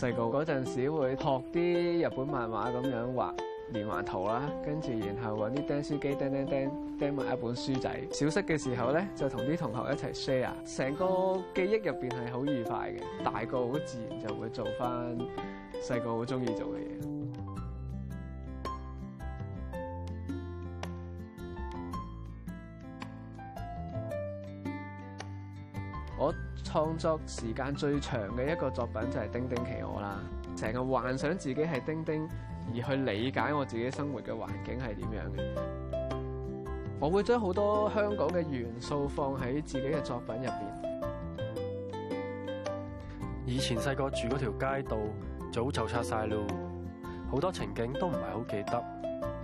細個嗰陣時會學啲日本漫畫咁樣畫連環圖啦，跟住然後揾啲釘書機釘埋一本書仔。小息嘅時候咧，就同啲同學一齊 share， 成個記憶入邊係好愉快嘅。大個好自然就會做翻細個好中意做嘅嘢。我創作時間最長嘅一個作品就係《丁丁企鵝》啦，成日幻想自己係丁丁，而去理解我自己生活嘅環境係點樣嘅。我會將好多香港嘅元素放喺自己嘅作品入邊。 以前細個住嗰條街道早就拆晒咯，好多情景都唔係好記得。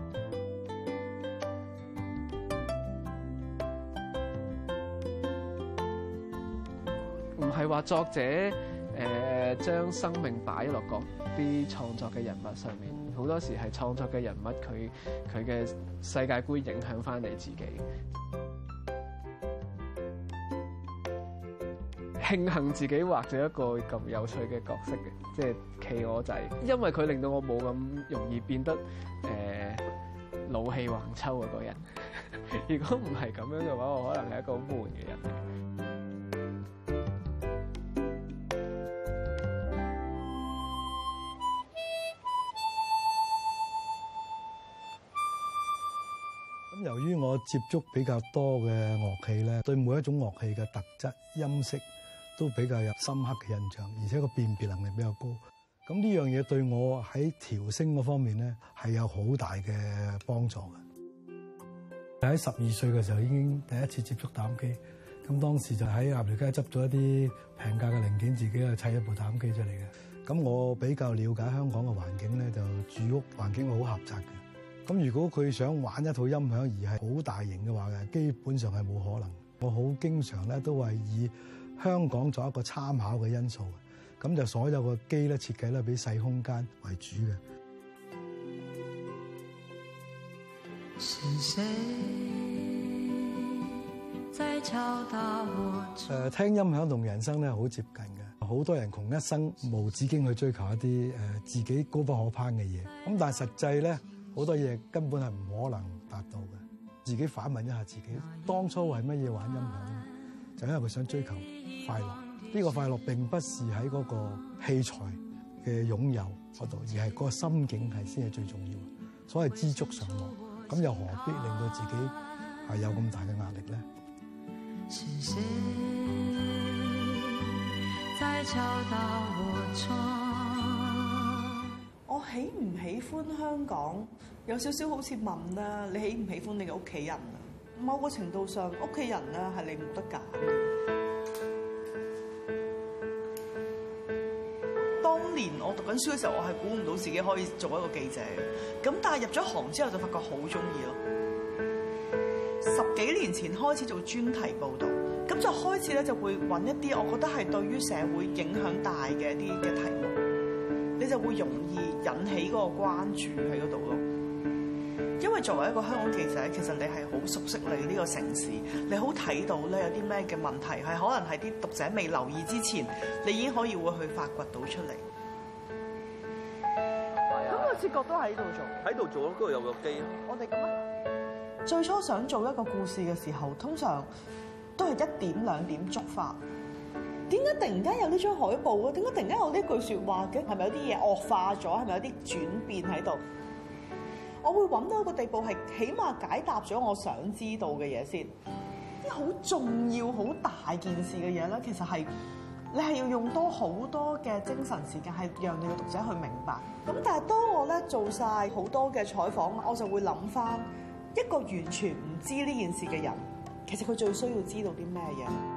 唔係話作者將生命擺落嗰啲創作嘅人物上面，好多時係創作嘅人物佢嘅世界觀影響翻你自己。慶幸自己畫咗一個咁有趣嘅角色嘅，即係企鵝仔，因為佢令到我冇咁容易變得老氣橫秋嗰個人。如果唔係咁樣嘅話，我可能係一個好悶嘅人。 由於我接觸比較多嘅樂器咧，對每一種樂器嘅特質、音色都比較有深刻嘅印象，而且個辨別能力比較高。咁呢樣嘢對我喺調聲嗰方面咧係有好大嘅幫助嘅。喺12歲嘅時候已經第一次接觸打機，咁當時就喺鴨寮街執咗一啲平價嘅零件，自己去砌一部打機出嚟嘅。咁我比較了解香港嘅環境咧，就住屋環境好狹窄嘅。咁如果佢想玩一套音響而係好大型嘅話嘅，基本上係冇可能。我好經常咧都係以香港作一個參考嘅因素嘅，咁就所有個機咧設計咧俾細空間為主嘅。是誰在敲打我？聽音響同人生咧好接近嘅，好多人窮一生無止境去追求一啲自己高不可攀嘅嘢，咁但係實際咧。好多嘢根本係唔可能達到嘅，自己反問一下自己，當初為乜嘢玩音響咧？就因為佢想追求快樂。呢個快樂並不是喺嗰個器材嘅擁有嗰度，而係嗰個心境係先係最重要。所謂知足常樂，咁又何必令到自己係有咁大嘅壓力咧？是誰在敲打我窗？ 我喜唔喜歡香港，有少少好似問啦，你喜唔喜歡你嘅屋企人啊？某個程度上，屋企人咧係你冇得揀嘅。當年我讀緊書嘅時候，我係估唔到自己可以做一個記者嘅，咁但係入咗行之後就發覺好中意咯。10幾年前開始做專題報導，咁就開始咧就會揾一啲我覺得係對於社會影響大嘅一啲嘅題目。你就會容易引起嗰個關注喺嗰度咯，因為作為一個香港記者，其實你係好熟悉你呢個城市，你好睇到咧有啲咩嘅問題係可能係啲讀者未留意之前，你已經可以會去發掘到出嚟。咁個切角都喺度做，喺度做咯，嗰度有個機。我哋咁啊，最初想做一個故事嘅時候，通常都係1點2點觸發。點解突然間有呢張海報啊？點解突然間有呢句説話嘅？係咪有啲嘢惡化咗？係咪有啲轉變喺度？我會揾到一個地步係起碼解答咗我想知道嘅嘢先。啲好重要、好大件事嘅嘢咧，其實係你係要用多好多嘅精神時間，係讓你嘅讀者去明白。咁但係當我咧做晒好多嘅採訪，我就會諗翻一個完全唔知呢件事嘅人，其實佢最需要知道啲咩嘢？